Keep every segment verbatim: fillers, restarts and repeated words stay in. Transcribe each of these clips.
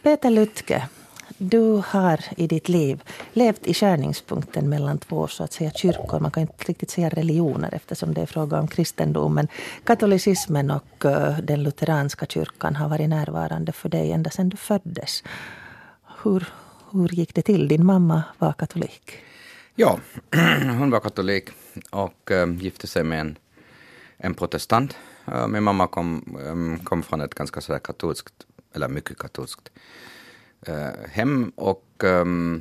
Peter Lütke, du har i ditt liv levt i skärningspunkten mellan två så att säga kyrkor. Man kan inte riktigt säga religioner eftersom det är fråga om kristendomen. Katolicismen och uh, den lutheranska kyrkan har varit närvarande för dig ända sedan du föddes. Hur, hur gick det till? Din mamma var katolik. Ja, hon var katolik och uh, gifte sig med en, en protestant. Uh, min mamma kom, um, kom från ett ganska sådär katolskt, eller mycket katolskt uh, hem och um,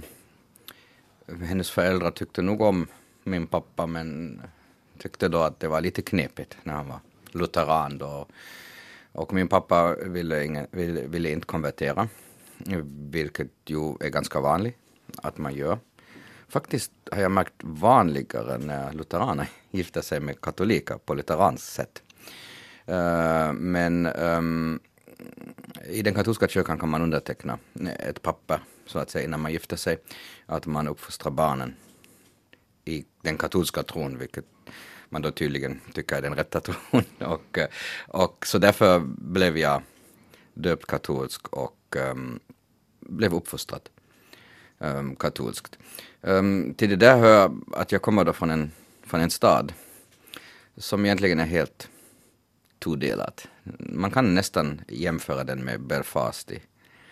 hennes föräldrar tyckte nog om min pappa men tyckte då att det var lite knepigt när han var lutheran då. Och min pappa ville, ingen, ville, ville inte konvertera, vilket ju är ganska vanligt att man gör. Faktiskt har jag märkt vanligare när lutheraner gifter sig med katoliker på lutherans sätt. Uh, men um, i den katolska kyrkan kan man underteckna ett papper så att säga innan man gifter sig att man uppfostrar barnen i den katolska tron, vilket man då tydligen tycker är den rätta tron. och, och så därför blev jag döpt katolsk och um, blev uppfostrad um, katolskt. Um, till det där hör att jag kommer då från en, från en stad som egentligen är helt todelat. Man kan nästan jämföra den med Belfast i,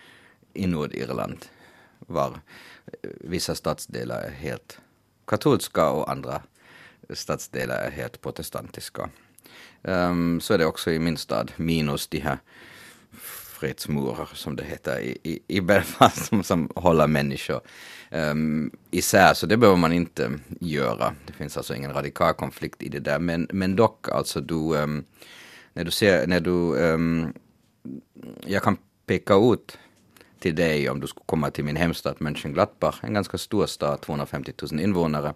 i Nordirland, var vissa stadsdelar är helt katolska och andra stadsdelar är helt protestantiska. Um, så är det också i min stad, minus de här fredsmurar som det heter i, i, i Belfast som, som håller människor um, isär, så det behöver man inte göra. Det finns alltså ingen radikal konflikt i det där, men, men dock alltså du, um, när du ser, när du, um, jag kan peka ut till dig om du skulle komma till min hemstad Mönchengladbach, en ganska stor stad, tvåhundrafemtio tusen invånare,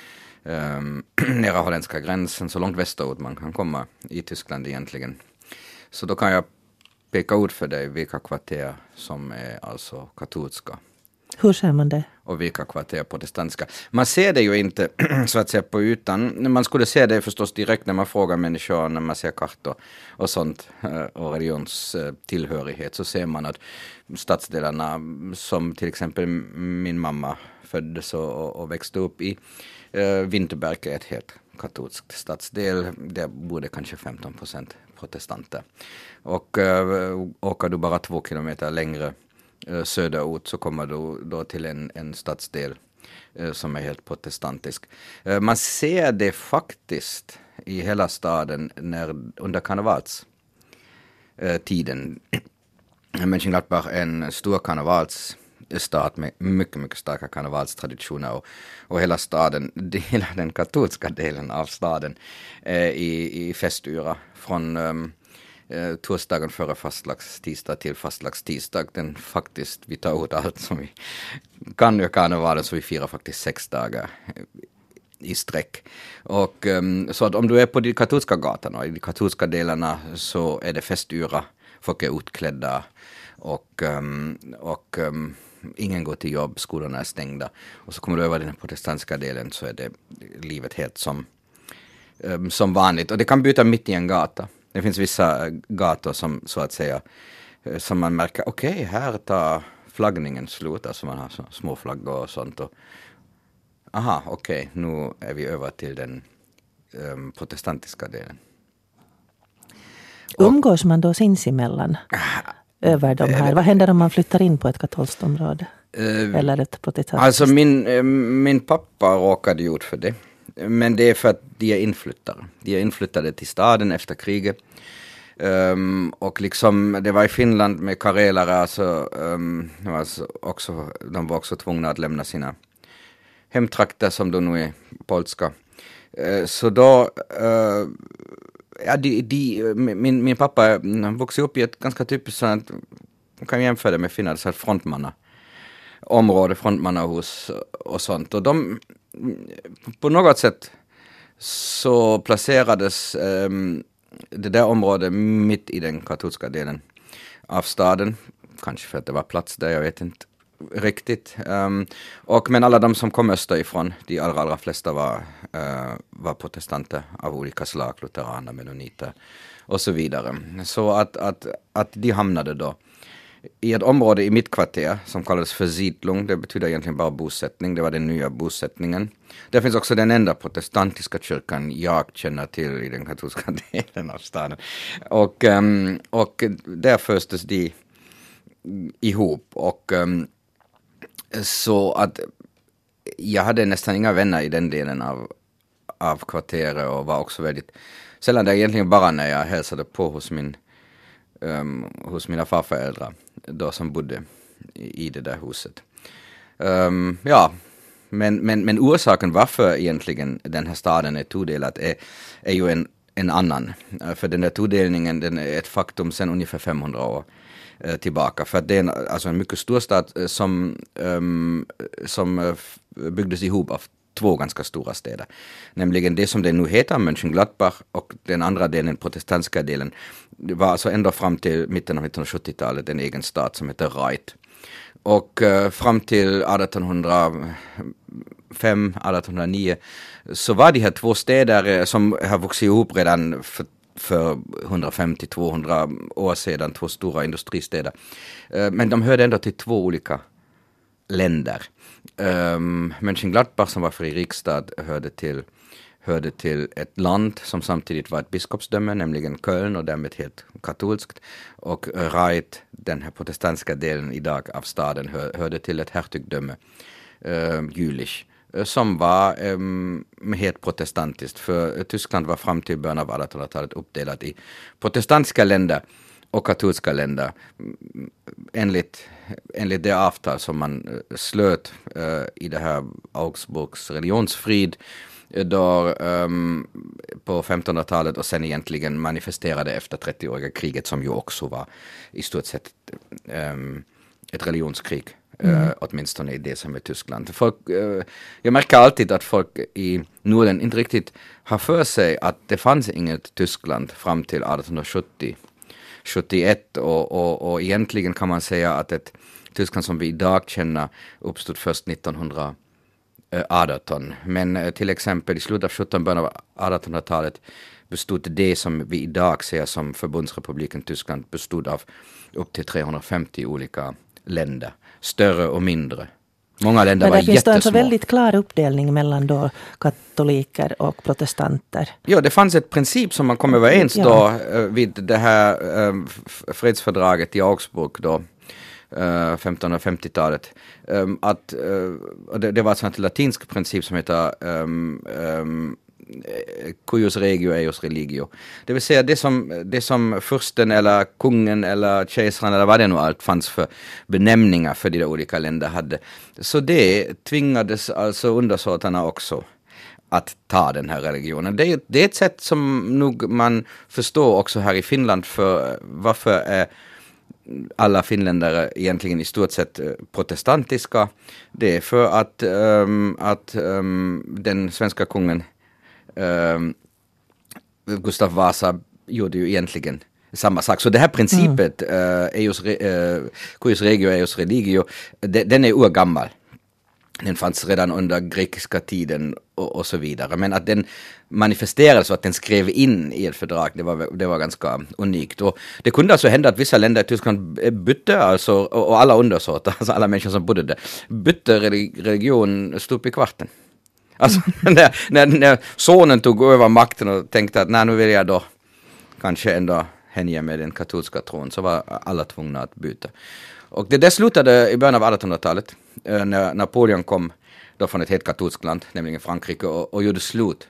um, nära holländska gränsen, så långt västerut man kan komma i Tyskland egentligen. Så då kan jag peka ut för dig vilka kvarter som är alltså katolska. Hur ser man det? Och vilka kvarter är protestantiska. Man ser det ju inte så att säga på ytan. Man skulle se det förstås direkt när man frågar människor, när man ser kartor och sånt och religionstillhörighet, så ser man att stadsdelarna som till exempel min mamma föddes och, och växte upp i, Vinterberg är ett helt katolskt stadsdel. Där bor det kanske femton procent protestanter. Och äh, åker du bara två kilometer längre äh, söderut så kommer du då till en, en stadsdel äh, som är helt protestantisk. Äh, man ser det faktiskt i hela staden när, under karnevalstiden. Äh, Mönchengladbach är en stor karnevals stad med mycket, mycket starka karnevalstraditioner och, och hela staden, hela den katolska delen av staden eh, i, i festyra från um, eh, torsdagen före fastlagstidsdag till fastlagstidsdag. Den faktiskt, vi tar ut allt som vi kan göra karnevalen, så vi firar faktiskt sex dagar i sträck. Och um, så att om du är på de katolska gatorna, i de katolska delarna, så är det festyra, folk är utklädda och, um, och um, ingen går till jobb, skolorna är stängda. Och så kommer du över den protestantiska delen så är det livet helt som, um, som vanligt. Och det kan byta mitt i en gata. Det finns vissa gator som så att säga, som man märker, okej, okay, här tar flaggningen slut. Alltså man har så, små flaggor och sånt. Och, aha, okej, okay, nu är vi över till den um, protestantiska delen. Umgås man då sinsemellan över de här? Vad händer om man flyttar in på ett katolskt område? Uh, Eller ett protestantiskt? Alltså min, min pappa råkade ut för det. Men det är för att de är inflyttare. De är inflyttade till staden efter kriget. Um, och liksom det var i Finland med karelare, alltså, um, alltså också, de var också tvungna att lämna sina hemtrakter som då nu är polska. Uh, så då uh, ja, de, de, min, min pappa vuxit upp i ett ganska typiskt sådant, man kan jämföra det med Finland, så här frontmanna område, frontmannahus och sånt. Och de, på något sätt så placerades um, det där området mitt i den katolska delen av staden. Kanske för att det var plats där, jag vet inte riktigt. Um, och, men alla de som kom österifrån, de allra, allra flesta var, uh, var protestanter av olika slag, lutheraner, mennoniter och så vidare. Så att, att, att de hamnade då i ett område i mitt kvarter som kallades för Siedlung. Det betyder egentligen bara bosättning. Det var den nya bosättningen. Där finns också den enda protestantiska kyrkan jag känner till i den katolska delen av staden. Och, um, och där föstes de ihop. Och um, så att jag hade nästan inga vänner i den delen av, av kvarteret och var också väldigt sällan där egentligen bara när jag hälsade på hos min Um, hos mina farföräldrar då som bodde i, i det där huset. Um, ja, men, men, men orsaken varför egentligen den här staden är todelad är, är ju en, en annan. Uh, för den där todelningen den är ett faktum sedan ungefär femhundra år uh, tillbaka. För att det är en, alltså en mycket stor stad uh, som, um, som uh, byggdes ihop av två ganska stora städer. Nämligen det som det nu heter, Mönchengladbach, och den andra delen, protestantiska delen, det var alltså ända fram till mitten av nittonhundrasjuttiotalet en egen stad som heter Reit. Och uh, fram till artonhundrafem artonhundranio så var de här två städer som har vuxit ihop redan för för hundrafemtio till tvåhundra år sedan, två stora industristäder. Uh, men de hörde ändå till två olika länder. Um, Mönchengladbach som var fri riksstad hörde till, hörde till ett land som samtidigt var ett biskopsdöme, nämligen Köln, och därmed helt katolskt. Och Reit, den här protestantiska delen idag av staden, hör, hörde till ett hertigdöme, uh, Jülich, som var um, helt protestantiskt. För Tyskland var fram till början av artonhundratalet uppdelat i protestantiska länder och katolska länder enligt, enligt det avtal som man slöt uh, i det här Augsburgs religionsfrid då, um, på femtonhundratalet och sen egentligen manifesterade efter trettioåriga kriget som ju också var i stort sett um, ett religionskrig. Mm. Uh, åtminstone i det som är Tyskland. Folk, uh, jag märker alltid att folk i Norden inte riktigt har för sig att det fanns inget Tyskland fram till artonhundrasjuttio sjuttioett och, och, och egentligen kan man säga att ett Tyskland som vi idag känner uppstod först nittonhundraarton. Men uh, till exempel i slutet av sjuttonhundratalet, början av artonhundratalet bestod det som vi idag ser som Förbundsrepubliken Tyskland bestod av upp till trehundrafemtio olika länder. Större och mindre. Många länder var jättesmå. Men det finns alltså väldigt klar uppdelning mellan då katoliker och protestanter. Ja, det fanns ett princip som man kom överens ja. då vid det här äh, fredsfördraget i Augsburg då, äh, femtonhundrafemtiotalet. Äh, att, äh, det, det var alltså en latinsk princip som heter äh, äh, cuius regio eius religio. Det vill säga det som, det som fursten eller kungen eller kejsaren eller vad det nu allt fanns för benämningar för de där olika länder hade. Så det tvingades alltså undersåtarna också att ta den här religionen. Det är, det är ett sätt som nog man förstår också här i Finland för varför är alla finländare egentligen i stort sett protestantiska. Det är för att, um, att um, den svenska kungen Uh, Gustav Vasa gjorde ju egentligen samma sak. Så det här principet, mm. uh, eius, uh, cuius regio eius religio, de, den är urgammal. Den fanns redan under grekiska tiden och, och så vidare. Men att den manifesterades och att den skrev in i ett fördrag, det var, det var ganska unikt. Och det kunde alltså hända att vissa länder i Tyskland bytte, alltså, och, och alla undersåtar, alltså alla människor som bodde där, bytte religion stup i kvarten. Alltså när, när, när sonen tog över makten och tänkte att nej, nu vill jag då kanske ändå hänge med den katolska tron, så var alla tvungna att byta. Och det där slutade i början av artonhundratalet när Napoleon kom då från ett helt katolskt land, nämligen Frankrike, och, och gjorde slut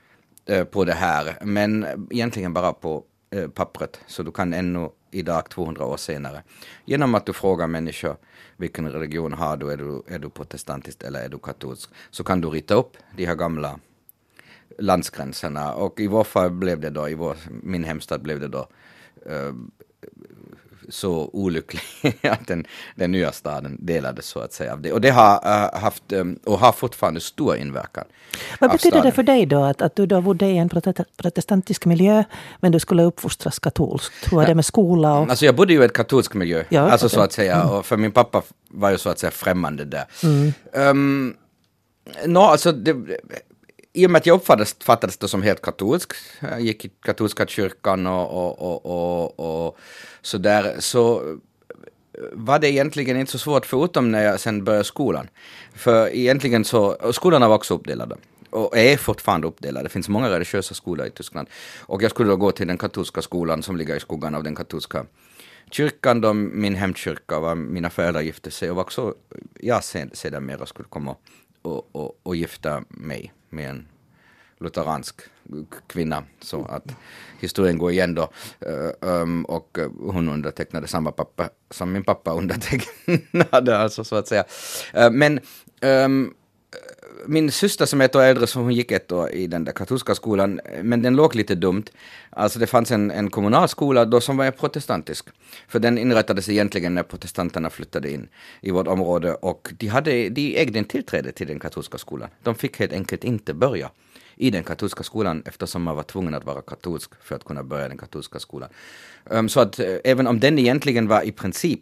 på det här. Men egentligen bara på pappret, så du kan ännu idag tvåhundra år senare, genom att du frågar människor vilken religion har du, är du, är du protestantisk eller är du katolsk, så kan du rita upp de här gamla landsgränserna. Och i vår fall blev det då, i vår, min hemstad blev det då uh, så olycklig att den, den nya staden delades så att säga av det. Och det har uh, haft um, och har fortfarande stor inverkan. Vad betyder staden. Det för dig då att, att du då bodde i en protestantisk miljö men du skulle uppfostras katolskt? Hur var det med skola? Och... Alltså jag bodde ju i ett katolsk miljö, ja, alltså okay. så att säga, mm. och för min pappa var ju så att säga främmande där. Mm. Um, no, alltså det, i och med att jag uppfattades det som helt katolsk, jag gick i katolska kyrkan och, och, och, och, och så där, så var det egentligen inte så svårt förutom när jag sen började skolan. För egentligen så, och skolorna var också uppdelade. Och är fortfarande uppdelade. Det finns många religiösa skolor i Tyskland. Och jag skulle då gå till den katolska skolan som ligger i skuggan av den katolska kyrkan. Då min hemkyrka var mina föräldrar gifte sig. Och också jag sedan mer skulle komma och, och, och gifta mig med en lutheransk kvinna, så att historien går igen då, um, och hon undertecknade samma pappa som min pappa undertecknade, alltså så att säga. Uh, men um, min syster som är ett år äldre, så hon gick ett år i den där katolska skolan, men den låg lite dumt. Alltså det fanns en, en kommunal skola då som var protestantisk, för den inrättades egentligen när protestanterna flyttade in i vårt område, och de, hade, de ägde en tillträde till den katolska skolan. De fick helt enkelt inte börja i den katolska skolan eftersom man var tvungen att vara katolsk för att kunna börja den katolska skolan. Um, så att uh, även om den egentligen var i princip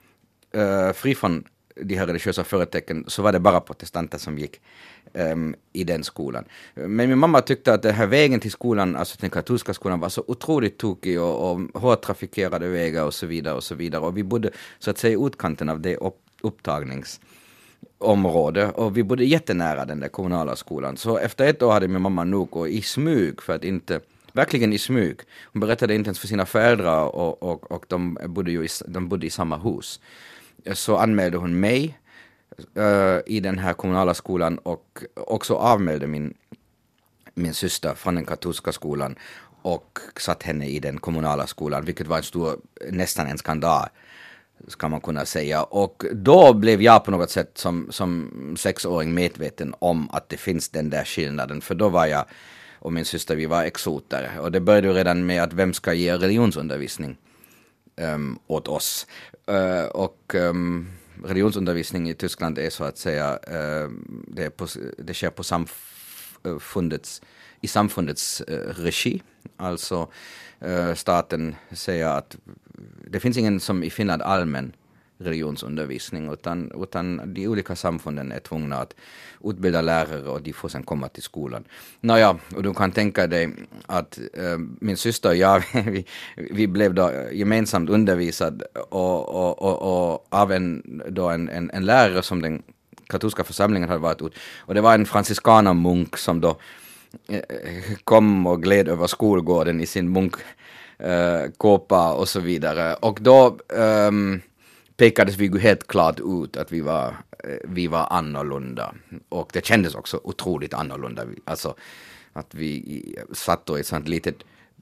uh, fri från de här religiösa företecken, så var det bara protestanter som gick um, i den skolan. Men min mamma tyckte att den här vägen till skolan, alltså den katolska skolan, var så otroligt tokig och, och hårt trafikerade vägar och så vidare och så vidare. Och vi bodde så att säga i utkanten av det upp, upptagnings område, och vi bodde jättenära den där kommunala skolan. Så efter ett år hade min mamma nog, och i smyg, för att inte, verkligen i smyg, hon berättade inte ens för sina föräldrar, och, och, och de, bodde ju i, de bodde i samma hus. Så anmälde hon mig uh, i den här kommunala skolan, och också avmälde min, min syster från den katolska skolan och satt henne i den kommunala skolan, vilket var en stor, nästan en skandal, ska man kunna säga. Och då blev jag på något sätt som, som sexåring medveten om att det finns den där skillnaden. För då var jag och min syster, vi var exoter. Och det började ju redan med att vem ska ge religionsundervisning um, åt oss. Uh, och um, religionsundervisning i Tyskland är så att säga, uh, det, är på, det sker på samfundets, i samfundets uh, regi. Alltså uh, staten säger att det finns ingen som i Finland allmän religionsundervisning, utan, utan de olika samfunden är tvungna att utbilda lärare, och de får sedan komma till skolan. Nåja, och du kan tänka dig att äh, min syster och jag, vi, vi blev då gemensamt undervisad och, och, och, och av en, då en, en, en lärare som den katolska församlingen hade varit ut. Och det var en franciskanermunk som då äh, kom och gled över skolgården i sin munk Uh, kåpa och så vidare. Och då um, pekades vi ju helt klart ut att vi var, uh, vi var annorlunda. Och det kändes också otroligt annorlunda. Alltså att vi satt då i ett sånt litet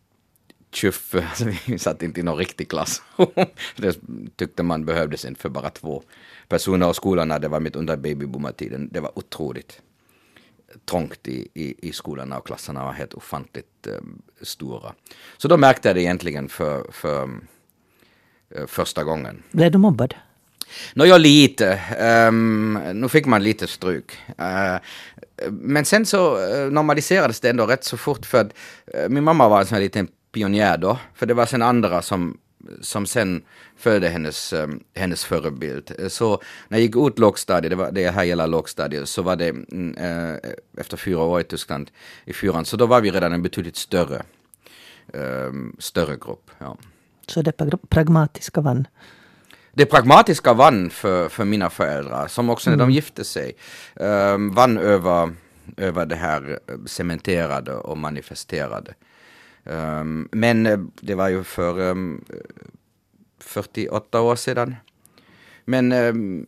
tjuff, alltså vi satt inte i någon riktig klass. Det tyckte man behövdes inte för bara två personer, och skolan när det var mitt under babyboomertiden. Det var otroligt trångt i, i, i skolorna, och klasserna var helt ofantligt eh, stora. Så då märkte jag det egentligen för, för eh, första gången. Blev du mobbad? Nå, jag lite. Um, nu fick man lite stryk. Uh, men sen så uh, normaliserades det ändå rätt så fort, för att uh, min mamma var en sån här liten pionjär då. För det var sen andra som som sen följde hennes, um, hennes förebild. Så när jag gick ut lågstadiet, det, var, det här gäller lågstadiet, så var det uh, efter fyra år i Tyskland i fyran, så då var vi redan en betydligt större um, större grupp. Ja. Så det pragmatiska vann? Det pragmatiska vann för, för mina föräldrar, som också när mm. de gifte sig um, vann över, över det här cementerade och manifesterade. Um, men det var ju för um, fyrtioåtta år sedan. Men um,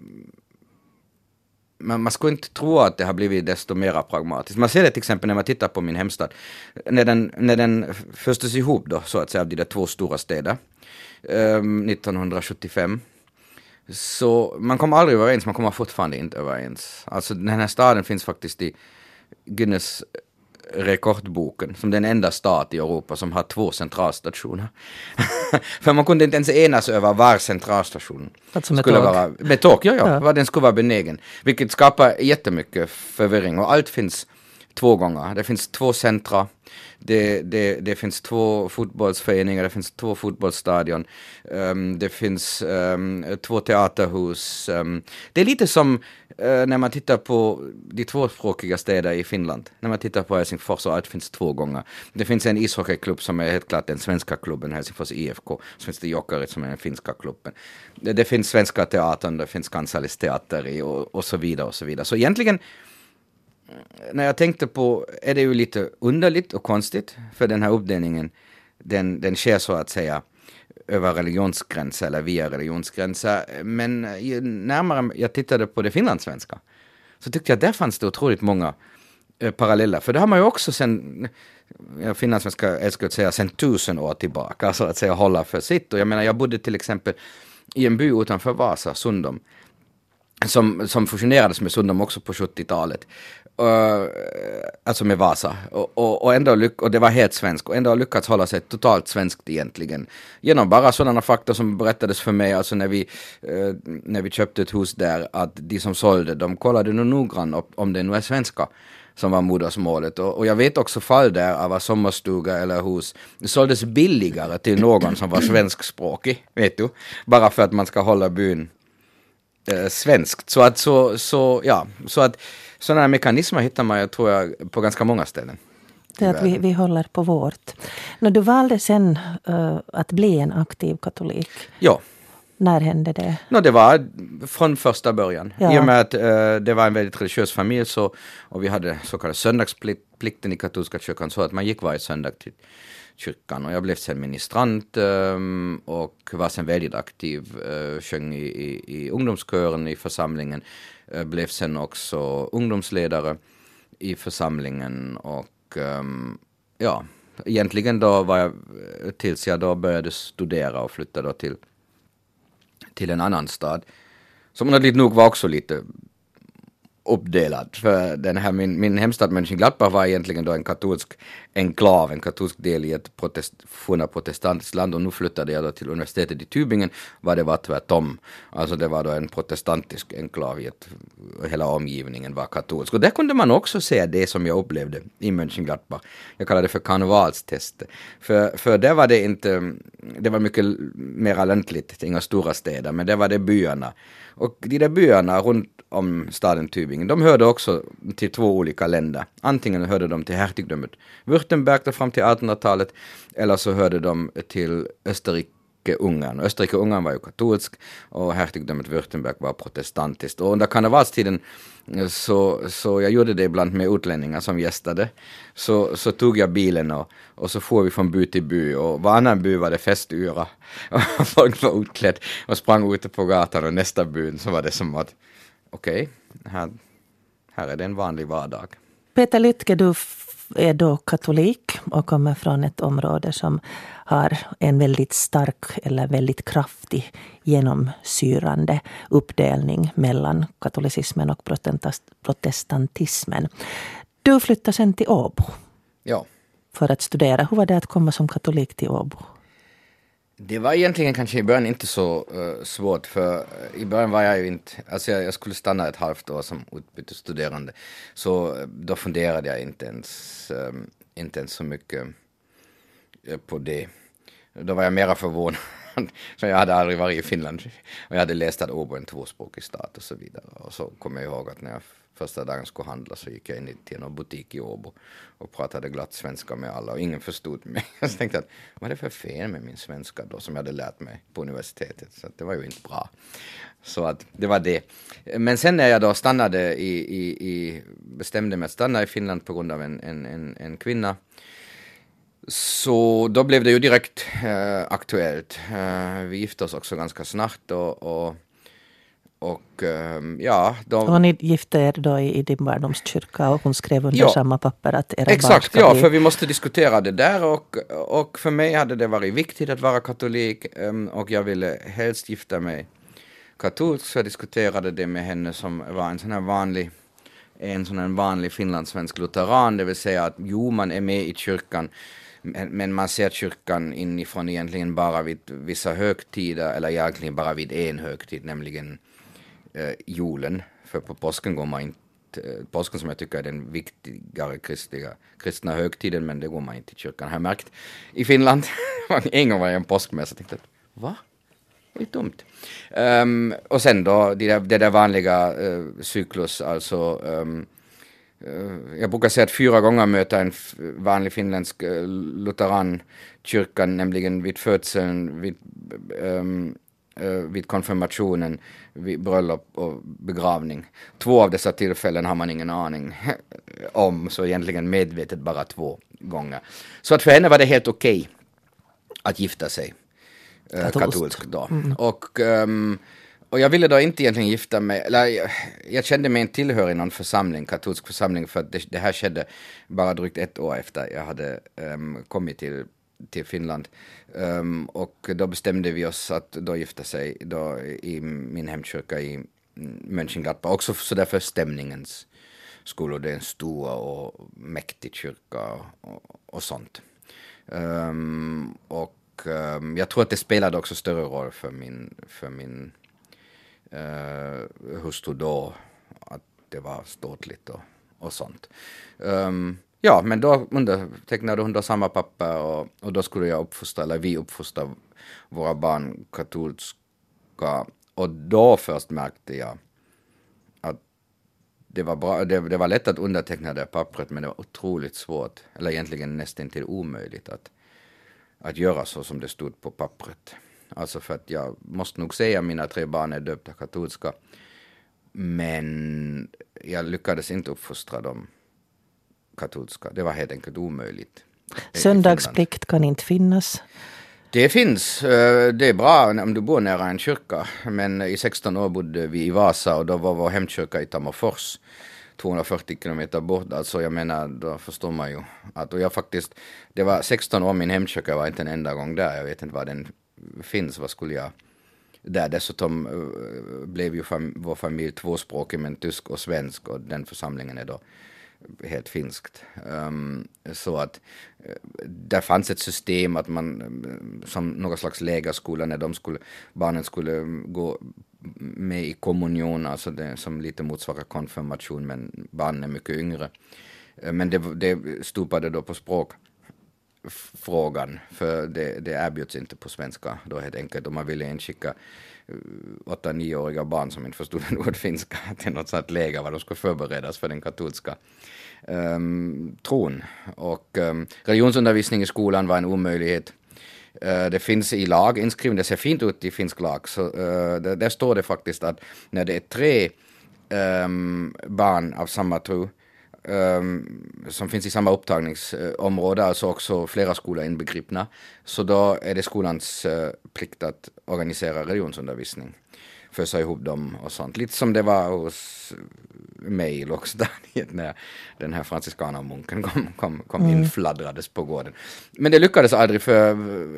man, man skulle inte tro att det har blivit desto mer pragmatiskt. Man ser det till exempel när man tittar på min hemstad. När den, när den förstes ihop då, så att säga, av de där två stora städer um, nittonhundrasjuttiofem. Så man kommer aldrig överens, man kommer fortfarande inte överens. Alltså den här staden finns faktiskt i Guinness rekordboken som den enda stat i Europa som har två centralstationer. För man kunde inte ens enas över var centralstationen alltså skulle tåg. vara. Med tåg, ja, ja, ja. Vad den skulle vara benägen. Vilket skapar jättemycket förvirring, och allt finns två gånger. Det finns två centra. Det, det, det finns två fotbollsföreningar, det finns två fotbollsstadion, um, det finns um, två teaterhus. Um, det är lite som uh, när man tittar på de tvåspråkiga städer i Finland. När man tittar på Helsingfors så det finns två gånger. Det finns en ishockeyklubb som är helt klart den svenska klubben, Helsingfors I F K. Så finns det Jokerit som är den finska klubben. Det, det finns svenska teatern, det finns Kansallis teater i och, och så vidare och så vidare. Så egentligen när jag tänkte på är det ju lite underligt och konstigt för den här uppdelningen den, den sker så att säga över religionsgränser eller via religionsgränser, men ju närmare jag tittade på det finlandssvenska så tyckte jag att där fanns det otroligt många eh, paralleller, för det har man ju också sen ja, finlandssvenska älskar att säga sen tusen år tillbaka så att säga hålla för sitt, och jag menar jag bodde till exempel i en by utanför Vasa, Sundom, som, som fusionerades med Sundom också på sjuttiotalet. Uh, alltså med Vasa och, och, och, ändå lyck- och det var helt svensk och ändå har lyckats hålla sig totalt svenskt egentligen genom bara sådana fakta som berättades för mig, alltså när vi, uh, när vi köpte ett hus där, att de som sålde, de kollade nog noggrant om det nu är svenska som var modersmålet, och, och jag vet också fall där av sommarstuga eller hus det såldes billigare till någon som var svenskspråkig, vet du, bara för att man ska hålla byn uh, svenskt, så att så, så ja, så att sådana här mekanismer hittar man, jag tror jag, på ganska många ställen. Det är att vi, vi håller på vårt. När du valde sen uh, att bli en aktiv katolik. Ja. När hände det? No, det var från första början. Ja. I och med att uh, det var en väldigt religiös familj så, och vi hade så kallad söndagsplikten i katolska kyrkan, så att man gick varje söndag till kyrkan, och jag blev sen ministrant um, och var sen väldigt aktiv, uh, sjöng i, i, i ungdomskören i församlingen, uh, blev sen också ungdomsledare i församlingen, och um, ja, egentligen då var jag, tills jag då började studera och flyttade då till, till en annan stad, som naturligt nog var också lite uppdelad, för den här, min, min hemstad Mönchengladbach var egentligen då en katolsk enklav, en katolsk del i ett protest, forna protestantiskt land, och nu flyttade jag då till universitetet i Tübingen, var det var tvärtom, alltså det var då en protestantisk enklav i ett, hela omgivningen var katolsk, och där kunde man också se det som jag upplevde i Mönchengladbach. Jag kallar det för karnevalstest, för, för där var det inte, det var mycket mer läntligt, inga stora städer, men där var det byarna, och de där byarna runt om staden Tübingen, de hörde också till två olika länder. Antingen hörde de till hertigdömet Württemberg där fram till artonhundratalet, eller så hörde de till Österrike-Ungern. Österrike-Ungern var ju katolsk och hertigdömet Württemberg var protestantiskt. Och under karnevalstiden så, så jag gjorde det ibland med utlänningar som gästade. Så, så tog jag bilen och, och så får vi från by till by, och varannan by var det festyra. Och folk var utklädd och sprang ute på gatan, och nästa byn så var det som att okej, okay, här, här är det en vanlig vardag. Peter Lytke, du är då katolik och kommer från ett område som har en väldigt stark eller väldigt kraftig genomsyrande uppdelning mellan katolicismen och protestantismen. Du flyttade sen till Åbo. Ja. För att studera. Hur var det att komma som katolik till Åbo? Det var egentligen kanske i början inte så uh, svårt, för uh, i början var jag ju inte, alltså jag, jag skulle stanna ett halvt år som utbytesstuderande, så uh, då funderade jag inte ens, um, inte ens så mycket uh, på det. Då var jag mera förvånad, för jag hade aldrig varit i Finland, och jag hade läst att Åbo är en tvåspråkig stat och så vidare, och så kom jag ihåg att när jag första dagen skulle handla så gick jag in till en butik i Åbo och pratade glatt svenska med alla, och ingen förstod mig. Jag tänkte att vad är det för fel med min svenska då som jag hade lärt mig på universitetet, så att det var ju inte bra. Så att det var det. Men sen när jag då stannade i, i, i bestämde mig att stanna i Finland på grund av en, en, en, en kvinna, så då blev det ju direkt äh, aktuellt. Äh, vi gifte oss också ganska snart, och, och Och um, ja, de... Och ni gifte er då i, i din barndomskyrka, och hon skrev under ja, samma papper att era exakt, barn ska ja, bli... för vi måste diskutera det där, och, och för mig hade det varit viktigt att vara katolik, um, och jag ville helst gifta mig katolsk, så jag diskuterade det med henne som var en sån här vanlig, en sån här vanlig finlandssvensk lutheran, det vill säga att jo, man är med i kyrkan, men man ser kyrkan inifrån egentligen bara vid vissa högtider, eller egentligen bara vid en högtid, nämligen eh, julen, för på påsken går man inte påsken som jag tycker är den viktigare kristliga, kristna högtiden, men det går man inte i kyrkan. Jag har märkt i Finland, en gång var jag en påskmässa och tänkte, va? Det är dumt. Um, och sen då, det där, det där vanliga uh, cyklus, alltså um, uh, jag brukar säga att fyra gånger möter en f- vanlig finländsk uh, lutherankyrkan, nämligen vid födseln, vid, um, uh, vid konfirmationen, vid bröllop och begravning. Två av dessa tillfällen har man ingen aning om, så egentligen medvetet bara två gånger. Så att för henne var det helt okej okay att gifta sig. Katolskt. Katolsk då. Mm. Och, um, och jag ville då inte egentligen gifta mig, eller jag, jag kände mig inte tillhörig någon församling, katolsk församling, för att det, det här skedde bara drygt ett år efter jag hade um, kommit till, till Finland. Um, och då bestämde vi oss att då gifta sig då i min hemkyrka i Mönchengladbach, också så därför stämningens skull, det är en stor och mäktig kyrka och, och sånt. Um, och Um, jag tror att det spelade också större roll för min, för min uh, hustru då, att det var ståtligt och, och sånt. Um, ja, men då undertecknade hon då samma papper och, och då skulle jag uppfostra, eller vi uppfostra våra barn katolska. Och då först märkte jag att det var, bra, det, det var lätt att underteckna det pappret, men det var otroligt svårt, eller egentligen nästan till omöjligt att att göra så som det stod på pappret. Alltså för att jag måste nog säga att mina tre barn är döpta katolska, men jag lyckades inte uppfostra dem katolska. Det var helt enkelt omöjligt. Söndagsplikt kan inte finnas. Det finns. Det är bra om du bor nära en kyrka, men i sexton år bodde vi i Vasa och då var vår hemkyrka i Tammerfors, tvåhundrafyrtio kilometer bort, alltså jag menar, då förstår man ju att, och jag faktiskt, det var sexton år, min hemkyrka var inte en enda gång där, jag vet inte vad den finns, vad skulle jag där, dessutom uh, blev ju fam- vår familj tvåspråkig, men tysk och svensk, och den församlingen är då helt finskt. Um, så att uh, där fanns ett system att man, uh, som någon slags lägerskola, när de skulle, barnen skulle gå med i kommunion, alltså det som lite motsvarar konfirmation, men barnen är mycket yngre. Men det, det stupade då på språkfrågan, för det, det erbjuds inte på svenska då helt enkelt, om man ville en skicka åtta nioåriga barn som inte förstod en ord finska till något sånt läger var de skulle förberedas för den katolska um, tron. Och um, religionsundervisning i skolan var en omöjlighet. Uh, det finns i lag inskrivet, det ser fint ut i finsk lag, så uh, där, där står det faktiskt att när det är tre um, barn av samma tro um, som finns i samma upptagningsområde, alltså också flera skolor inbegripna, så då är det skolans uh, plikt att organisera religionsundervisning, fösa ihop dem och sånt. Lite som det var hos mig i Lågstadiet när den här franciskanermunken kom, kom, kom mm. infladdrades på gården. Men det lyckades aldrig, för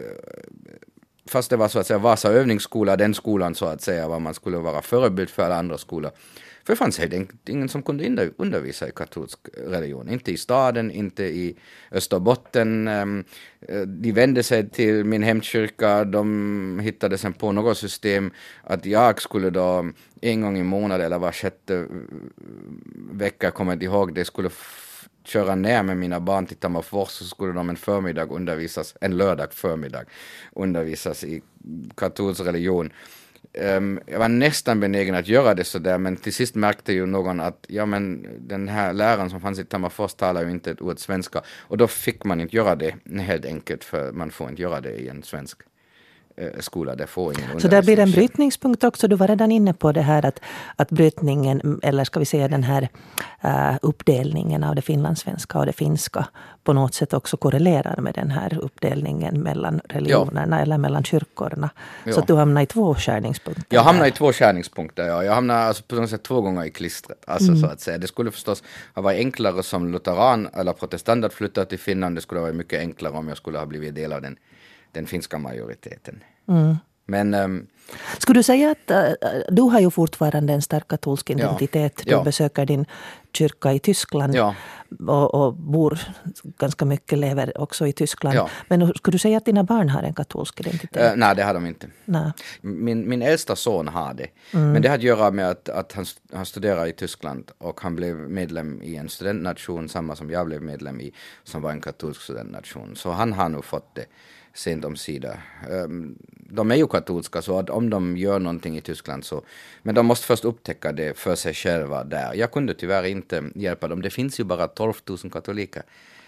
fast det var så att säga Vasa övningsskola, den skolan så att säga var man skulle vara förebild för alla andra skolor. För det fanns helt enkelt ingen som kunde undervisa i katolsk religion. Inte i staden, inte i Österbotten. De vände sig till min hemkyrka. De hittade sen på något system att jag skulle då en gång i månaden eller var sjätte vecka, kommer jag ihåg, det skulle f- köra ner med mina barn till Tammerfors, så skulle de en förmiddag undervisas, en lördag förmiddag undervisas i katolsk religion. Um, jag var nästan benägen att göra det så där, men till sist märkte ju någon att ja, men den här läraren som fanns i Tammerfors talar ju inte ett ord svenska, och då fick man inte göra det helt enkelt, för man får inte göra det i en svensk eh, skola. Där får ingen så där blir det en brytningspunkt också. Du var redan inne på det här att, att brytningen, eller ska vi säga den här uh, uppdelningen av det finlandssvenska och det finska på något sätt också korrelerar med den här uppdelningen mellan religionerna, ja, eller mellan kyrkorna. Ja. Så att du hamnar i två skärningspunkter. Jag hamnar i två skärningspunkter, ja. Jag hamnar alltså på något sätt två gånger i klistret. Alltså, mm. så att säga. Det skulle förstås ha varit enklare som lutheran eller protestant att flytta till Finland. Det skulle ha varit mycket enklare om jag skulle ha blivit del av den, den finska majoriteten. Mm. Men... Um, Skulle du säga att uh, du har ju fortfarande en stark katolsk identitet. Ja. Du Ja. besöker din kyrka i Tyskland Ja. och, och bor ganska mycket, lever också i Tyskland. Ja. Men skulle du säga att dina barn har en katolsk identitet? Uh, nej, det har de inte. Nej. Min, min äldsta son har det. Mm. Men det har att göra med att, att han, han studerar i Tyskland och han blev medlem i en studentnation, samma som jag blev medlem i, som var en katolsk studentnation. Så han har nog fått det sent om sida. Um, de är ju katolska, så att om de gör någonting i Tyskland så... Men de måste först upptäcka det för sig själva där. Jag kunde tyvärr inte hjälpa dem. Det finns ju bara tolv tusen katoliker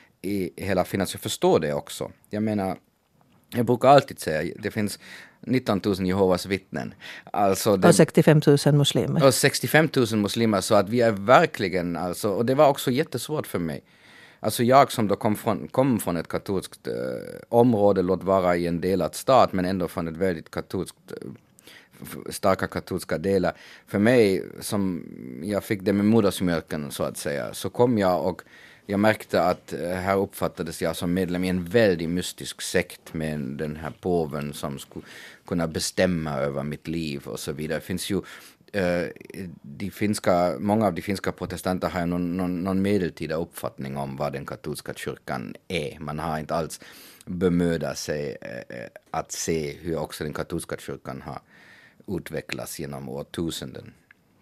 i hela Finland, så jag förstår det också. Jag menar, jag brukar alltid säga, det finns nitton tusen Jehovas vittnen. Alltså det, och sextiofem tusen muslimer. Och sextiofem tusen muslimer, så att vi är verkligen, alltså, och det var också jättesvårt för mig. Alltså jag som då kom från, kom från ett katolskt eh, område, låt vara i en delad stat, men ändå från ett väldigt katolskt, eh, starka katolska delar. För mig, som jag fick det med modersmjölken så att säga, så kom jag och jag märkte att eh, här uppfattades jag som medlem i en väldigt mystisk sekt med den här påven som skulle kunna bestämma över mitt liv och så vidare. Det finns ju Uh, de finska, många av de finska protestanter har någon, någon, någon medeltida uppfattning om vad den katolska kyrkan är. Man har inte alls bemödat sig uh, att se hur också den katolska kyrkan har utvecklats genom årtusenden.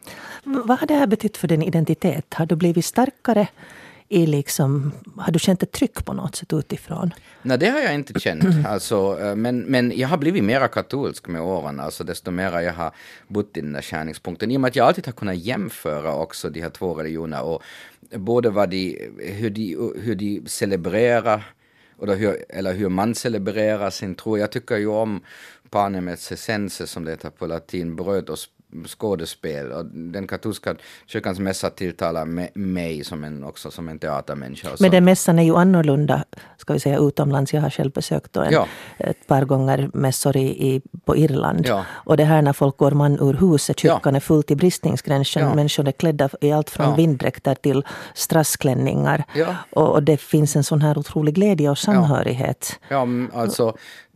Vad har det här betytt för din identitet? Har du blivit starkare i liksom, har du känt ett tryck på något sätt utifrån? Nej, det har jag inte känt. Alltså, men, men jag har blivit mera katolsk med åren. Alltså desto mer jag har bott i den där skärningspunkten. I och med att jag alltid har kunnat jämföra också de här två religionerna. Och både vad de, hur, de, hur de celebrerar, och då hur, eller hur man celebrerar sin tro. Jag tycker ju om panem et circenses, som det heter på latin, bröd och skådespel, och den katolska kyrkans mässa tilltalar mig som en, också som en teatermänniska. Men den mässan är ju annorlunda, ska vi säga, utomlands. Jag har själv besökt en, ja. ett par gånger mässor i, i, på Irland. Ja. Och det här när folk går man ur huset, kyrkan ja. är fullt i bristningsgränsen. Ja. Människor är klädda i allt från ja. vinddräkter till strassklänningar. Ja. Och, och det finns en sån här otrolig glädje och samhörighet. Ja, ja alltså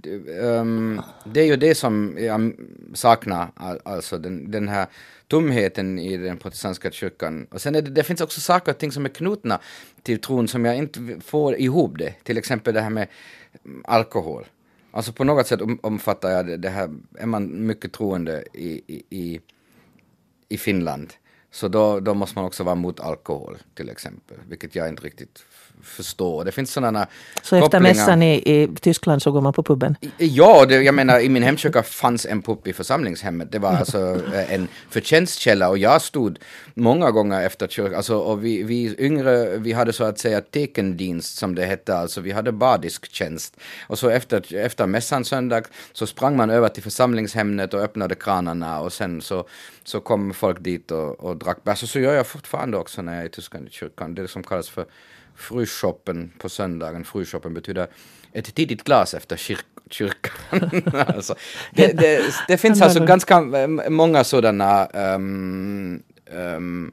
Um, det är ju det som jag saknar, alltså den, den här tomheten i den protestantiska kyrkan. Och sen är det, det finns också saker och ting som är knutna till tron som jag inte får ihop det. Till exempel det här med alkohol. Alltså på något sätt omfattar jag det, det här, är man mycket troende i, i, i Finland, så då, då måste man också vara mot alkohol till exempel, vilket jag inte riktigt förstår. Det finns sådana Så efter mässan i, i Tyskland så går man på puben? Ja, det, jag menar i min hemkyrka fanns en pub i församlingshemmet. Det var alltså en förtjänstkälla, och jag stod många gånger efter kyrkan. Alltså, och vi, vi yngre, vi hade så att säga tekendienst som det hette, alltså vi hade badisktjänst. Och så efter, efter mässan söndag så sprang man över till församlingshemmet och öppnade kranarna, och sen så, så kom folk dit och, och drack bärs. Så, så gör jag fortfarande också när jag är i Tyskland i kyrkan. Det som kallas för frühshoppen på söndagen. Frühshoppen betyder ett tidigt glas efter kyr- kyrkan. alltså, det, det, det finns alltså ganska många sådana um, um,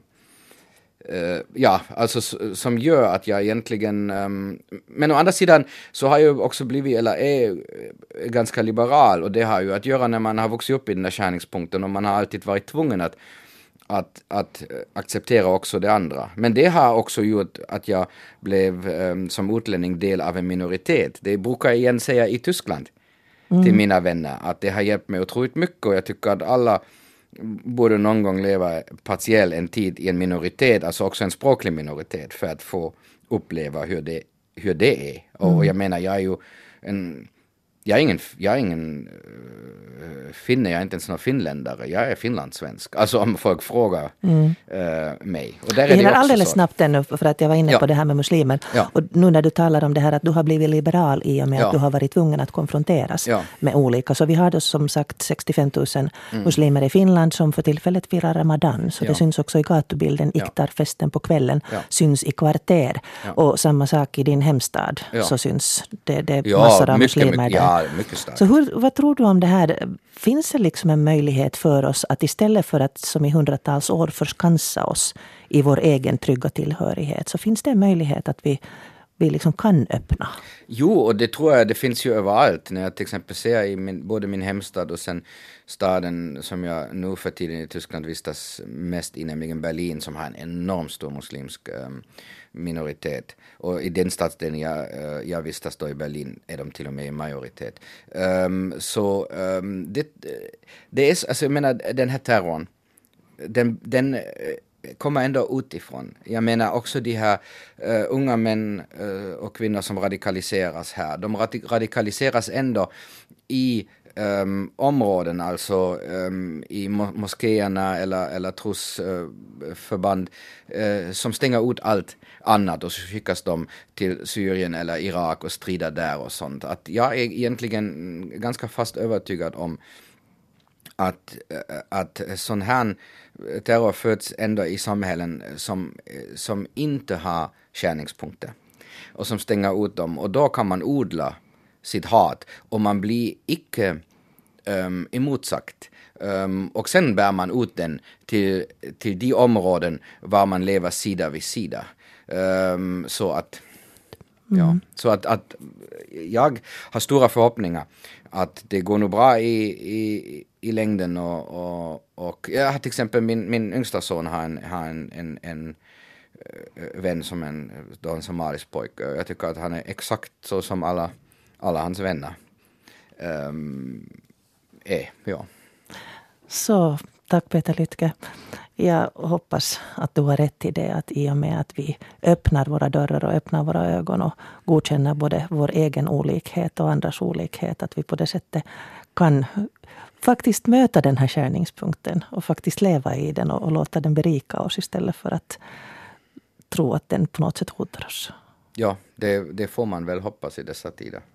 uh, ja, alltså som gör att jag egentligen um, men å andra sidan så har jag också blivit, eller är ganska liberal, och det har ju att göra när man har vuxit upp i den där skärningspunkten och man har alltid varit tvungen att Att, att acceptera också det andra. Men det har också gjort att jag blev um, som utlänning del av en minoritet. Det brukar jag igen säga i Tyskland mm. till mina vänner. Att det har hjälpt mig otroligt mycket, och jag tycker att alla borde någon gång leva partiell en tid i en minoritet, alltså också en språklig minoritet, för att få uppleva hur det, hur det är. Mm. Och jag menar, jag är ju en... Jag är ingen, jag är ingen uh, finne, jag är inte ens någon finländare. Jag är finlandssvensk. Alltså om folk frågar mm. uh, mig. Och där är det, det alldeles så. Snabbt ännu, för att jag var inne ja. på det här med muslimer. Ja. Och nu när du talar om det här att du har blivit liberal i och med ja. att du har varit tvungen att konfronteras ja. med olika. Så vi har då som sagt sextiofem tusen mm. muslimer i Finland som för tillfället firar Ramadan. Så ja. det syns också i gatubilden. Ja. Iktarfesten på kvällen ja. syns i kvarter. Ja. Och samma sak i din hemstad. Ja. Så syns det, det är ja, massor av mycket, muslimer mycket, där. Ja, mycket starkt. Så hur, vad tror du om det här? Finns det liksom en möjlighet för oss att istället för att som i hundratals år förskansa oss i vår egen trygga tillhörighet, så finns det en möjlighet att vi vi liksom kan öppna. Jo, och det tror jag det finns ju överallt. När jag till exempel ser i min, både min hemstad och sen staden som jag nu för tiden i Tyskland vistas mest i, nämligen Berlin, som har en enormt stor muslimsk um, minoritet. Och i den stadsdelen jag, uh, jag vistas då i Berlin är de till och med i majoritet. Um, så um, det, det är, alltså jag menar, den här terrorn, den, den kommer ändå utifrån. Jag menar också de här uh, unga män uh, och kvinnor som radikaliseras här. De radik- radikaliseras ändå i um, områden, alltså um, i mo- moskéerna eller, eller trosförband uh, uh, som stänger ut allt annat, och så skickas de till Syrien eller Irak och strider där och sånt. Att jag är egentligen ganska fast övertygad om att, att sån här terror föds ändå i samhällen som, som inte har skärningspunkter och som stänger ut dem, och då kan man odla sitt hat och man blir icke um, emotsagt. Um, och sen bär man ut den till, till de områden var man lever sida vid sida. Um, så att Mm. Ja, så att, att jag har stora förhoppningar att det går nog bra i, i, i längden, och, och, och jag har till exempel min, min yngsta son har en, har en, en, en vän som en, då en somalisk pojke. Jag tycker att han är exakt så som alla, alla hans vänner um, är, ja. Så tack Peter Lytke. Jag hoppas att du har rätt i det, att i och med att vi öppnar våra dörrar och öppnar våra ögon och godkänner både vår egen olikhet och andras olikhet, att vi på det sättet kan faktiskt möta den här skärningspunkten och faktiskt leva i den och, och låta den berika oss istället för att tro att den på något sätt hotar oss. Ja, det, det får man väl hoppas i dessa tider.